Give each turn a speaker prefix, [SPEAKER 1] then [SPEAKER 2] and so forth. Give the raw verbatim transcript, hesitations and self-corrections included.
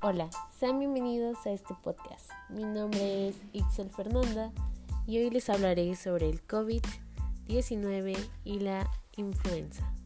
[SPEAKER 1] Hola, sean bienvenidos a este podcast. Mi nombre es Ixel Fernanda y hoy les hablaré sobre el COVID diecinueve y la influenza.